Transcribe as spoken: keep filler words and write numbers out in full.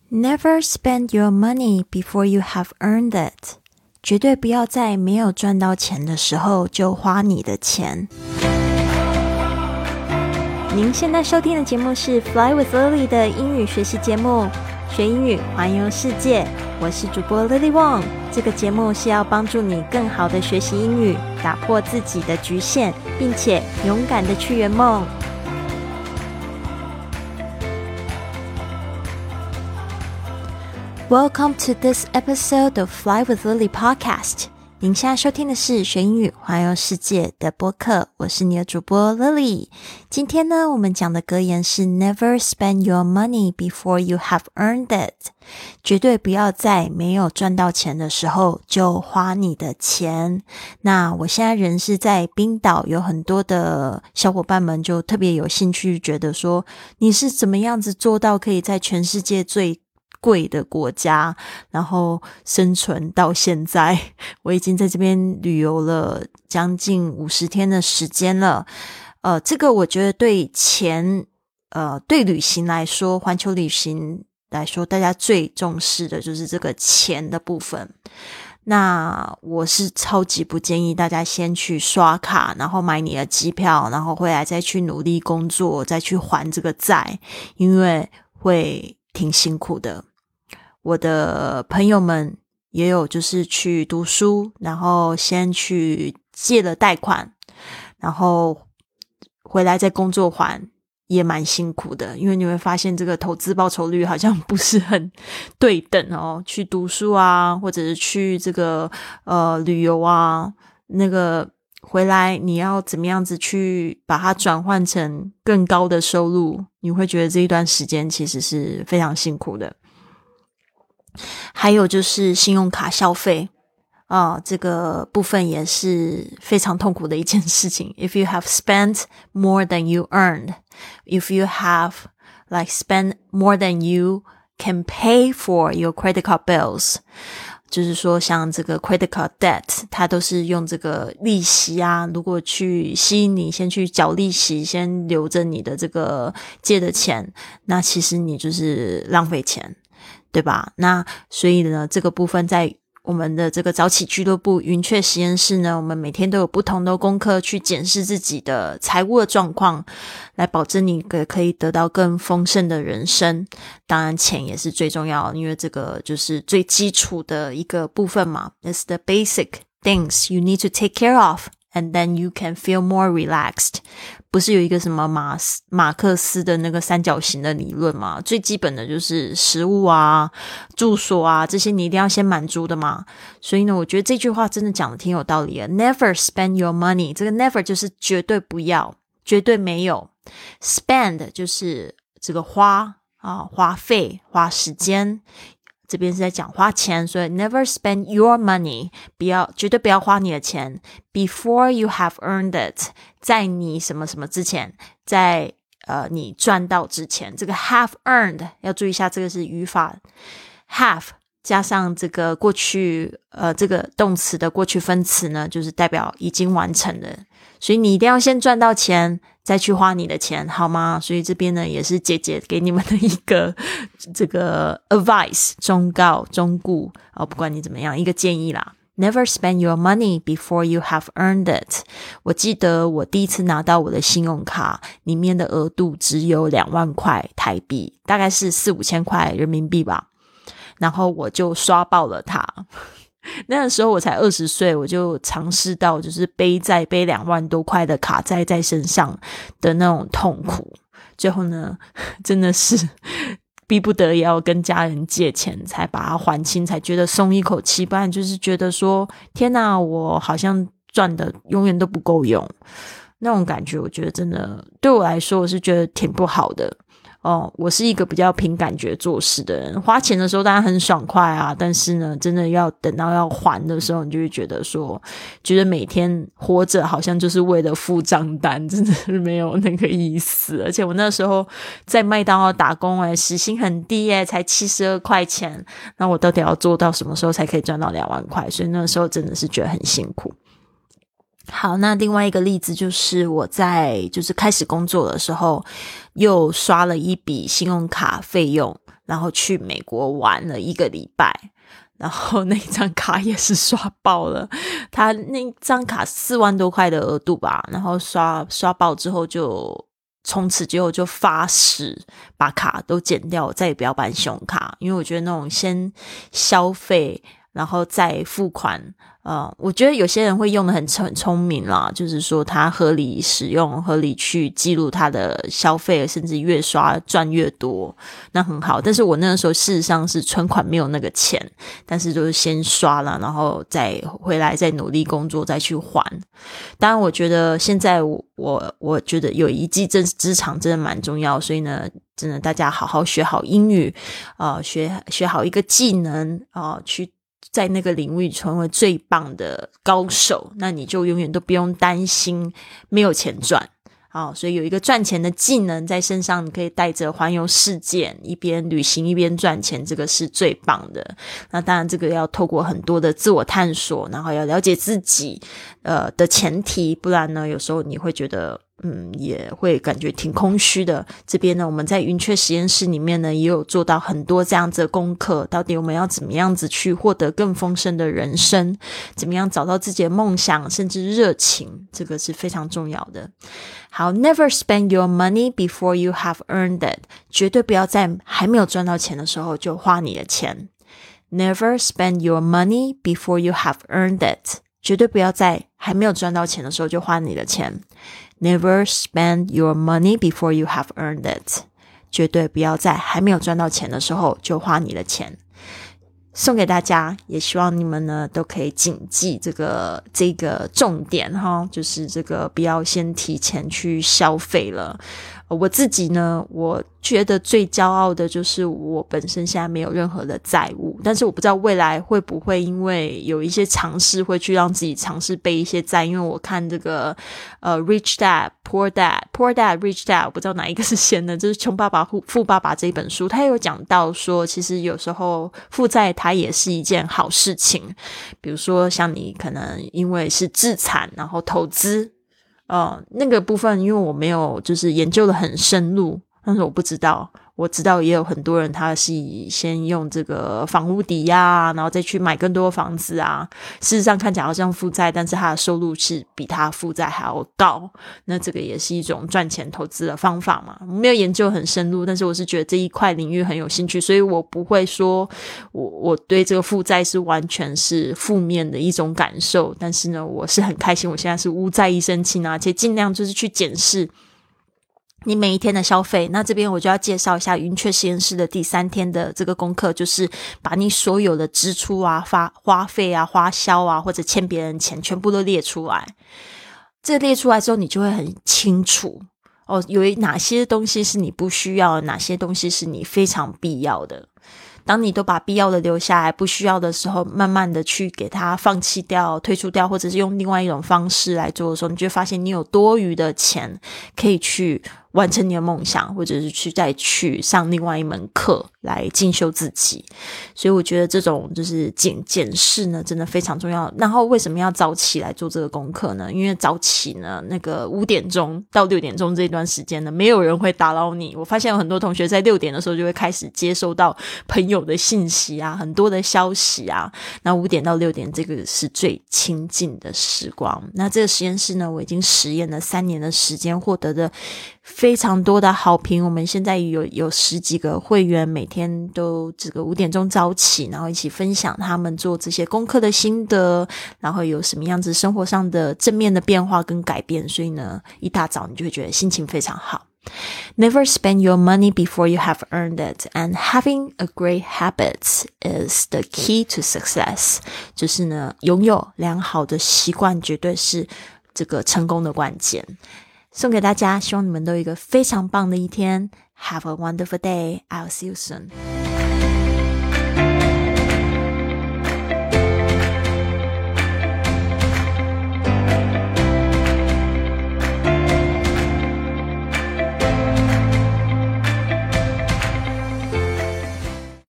Never spend your money before you have earned it. 绝对不要在没有赚到钱的时候就花你的钱。您现在收听的节目是 Fly with Lily 的英语学习节目，学英语环游世界。我是主播 Lily Wong。这个节目是要帮助你更好的学习英语，打破自己的局限，并且勇敢的去圆梦。Welcome to this episode of Fly with Lily podcast. 您现在收听的是学英语环游世界的播客，我是你的主播 Lily。今天呢，我们讲的格言是 Never spend your money before you have earned it. 绝对不要在没有赚到钱的时候就花你的钱。那我现在人是在冰岛，有很多的小伙伴们就特别有兴趣，觉得说你是怎么样子做到可以在全世界最贵的国家然后生存到现在。我已经在这边旅游了将近五十天的时间了。呃，这个我觉得对钱呃，对旅行来说，环球旅行来说，大家最重视的就是这个钱的部分。那我是超级不建议大家先去刷卡，然后买你的机票，然后回来再去努力工作，再去还这个债，因为会挺辛苦的。我的朋友们也有就是去读书，然后先去借了贷款，然后回来再工作还，也蛮辛苦的。因为你会发现这个投资报酬率好像不是很对等哦。去读书啊，或者是去这个呃旅游啊，那个回来你要怎么样子去把它转换成更高的收入，你会觉得这一段时间其实是非常辛苦的。还有就是信用卡消费啊、呃，这个部分也是非常痛苦的一件事情。 If you have spent more than you earned, if you have like spent more than you can pay for your credit card bills，就是说像这个 credit card debt 它都是用这个利息啊，如果去吸引你先去缴利息，先留着你的这个借的钱，那其实你就是浪费钱，对吧？那所以呢，这个部分在我们的这个早起俱乐部云雀实验室呢，我们每天都有不同的功课去检视自己的财务的状况，来保证你可以得到更丰盛的人生。当然钱也是最重要的，因为这个就是最基础的一个部分嘛。 It's the basic things you need to take care of and then you can feel more relaxed。 不是有一个什么马马克思的那个三角形的理论嘛？最基本的就是食物啊、住所啊，这些你一定要先满足的嘛。所以呢，我觉得这句话真的讲的挺有道理的。 Never spend your money， 这个 never 就是绝对不要，绝对没有。 Spend 就是这个花啊，花费、花时间，这边是在讲花钱，所以 never spend your money， 不要，绝对不要花你的钱 before you have earned it， 在你什么什么之前，在呃你赚到之前。这个 have earned 要注意一下，这个是语法 have 加上这个过去呃这个动词的过去分词呢，就是代表已经完成的。所以你一定要先赚到钱再去花你的钱，好吗？所以这边呢也是姐姐给你们的一个这个 advice， 忠告忠告哦，不管你怎么样，一个建议啦。Never spend your money before you have earned it。 我记得我第一次拿到我的信用卡里面的额度只有两万块台币，大概是四五千块人民币吧，然后我就刷爆了它。那个时候我才二十岁，我就尝试到就是背债背两万多块的卡债在身上的那种痛苦。最后呢，真的是逼不得已要跟家人借钱才把它还清，才觉得松一口气。不然就是觉得说天哪，我好像赚的永远都不够用，那种感觉我觉得真的对我来说我是觉得挺不好的。哦，我是一个比较凭感觉做事的人，花钱的时候当然很爽快啊，但是呢真的要等到要还的时候，你就会觉得说觉得每天活着好像就是为了付账单，真的是没有那个意思。而且我那时候在麦当劳打工诶，时薪很低诶，才七十二块钱，那我到底要做到什么时候才可以赚到两万块？所以那时候真的是觉得很辛苦。 好，那另外一个例子就是我在就是开始工作的时候又刷了一笔信用卡费用，然后去美国玩了一个礼拜，然后那张卡也是刷爆了，他那张卡四万多块的额度吧，然后刷刷爆之后就从此之后就发誓把卡都剪掉，再也不要办信用卡，因为我觉得那种先消费然后再付款呃，我觉得有些人会用得很很聪明啦，就是说他合理使用，合理去记录他的消费，甚至越刷赚越多，那很好。但是我那个时候事实上是存款没有那个钱，但是就是先刷了，然后再回来再努力工作再去还。当然我觉得现在我我我觉得有一技之长真的蛮重要，所以呢真的大家好好学好英语呃，学学好一个技能呃，去在那个领域成为最棒的高手，那你就永远都不用担心没有钱赚。好，所以有一个赚钱的技能在身上，你可以带着环游世界，一边旅行一边赚钱，这个是最棒的。那当然这个要透过很多的自我探索，然后要了解自己呃的前提，不然呢有时候你会觉得嗯，也会感觉挺空虚的。这边呢我们在云雀实验室里面呢也有做到很多这样子的功课，到底我们要怎么样子去获得更丰盛的人生，怎么样找到自己的梦想甚至热情，这个是非常重要的。好， never spend your money before you have earned it， 绝对不要在还没有赚到钱的时候就花你的钱。 Never spend your money before you have earned it， 绝对不要在还没有赚到钱的时候就花你的钱。Never spend your money before you have earned it， 绝对不要在还没有赚到钱的时候就花你的钱。送给大家，也希望你们呢都可以谨记这个这个重点哈，就是这个不要先提前去消费了。我自己呢，我觉得最骄傲的就是我本身现在没有任何的债务，但是我不知道未来会不会因为有一些尝试会去让自己尝试背一些债，因为我看这个呃 Rich Dad Poor Dad Poor Dad Rich Dad， 我不知道哪一个是先的，就是穷爸爸富爸爸这一本书，他有讲到说其实有时候负债它也是一件好事情，比如说像你可能因为是自产然后投资呃，那个部分因为我没有就是研究的很深入，但是我不知道，我知道也有很多人他是先用这个房屋抵押啊，然后再去买更多房子啊，事实上看起来好像负债，但是他的收入是比他负债还要高，那这个也是一种赚钱投资的方法嘛。我没有研究很深入，但是我是觉得这一块领域很有兴趣，所以我不会说我我对这个负债是完全是负面的一种感受，但是呢我是很开心我现在是无债一身轻啊，而且尽量就是去检视你每一天的消费。那这边我就要介绍一下云雀实验室的第三天的这个功课，就是把你所有的支出啊、花花费啊、花销啊，或者欠别人钱全部都列出来。这列出来之后你就会很清楚哦，有哪些东西是你不需要的，哪些东西是你非常必要的。当你都把必要的留下来，不需要的时候慢慢的去给它放弃掉、退出掉，或者是用另外一种方式来做的时候，你就会发现你有多余的钱可以去完成你的梦想，或者是去再去上另外一门课来进修自己。所以我觉得这种就是检检视呢真的非常重要。然后为什么要早起来做这个功课呢？因为早起呢那个五点钟到六点钟这段时间呢没有人会打扰你。我发现有很多同学在六点的时候就会开始接收到朋友的信息啊，很多的消息啊，那五点到六点这个是最亲近的时光。那这个实验室呢我已经实验了三年的时间，获得的非常多的好评。我们现在有有十几个会员每天都这个五点钟早起，然后一起分享他们做这些功课的心得，然后有什么样子生活上的正面的变化跟改变，所以呢一大早你就会觉得心情非常好。Never spend your money before you have earned it, and having a great habit is the key to success. 就是呢拥有良好的习惯绝对是这个成功的关键。送给大家，希望你们都有一个非常棒的一天。Have a wonderful day. I'll see you soon.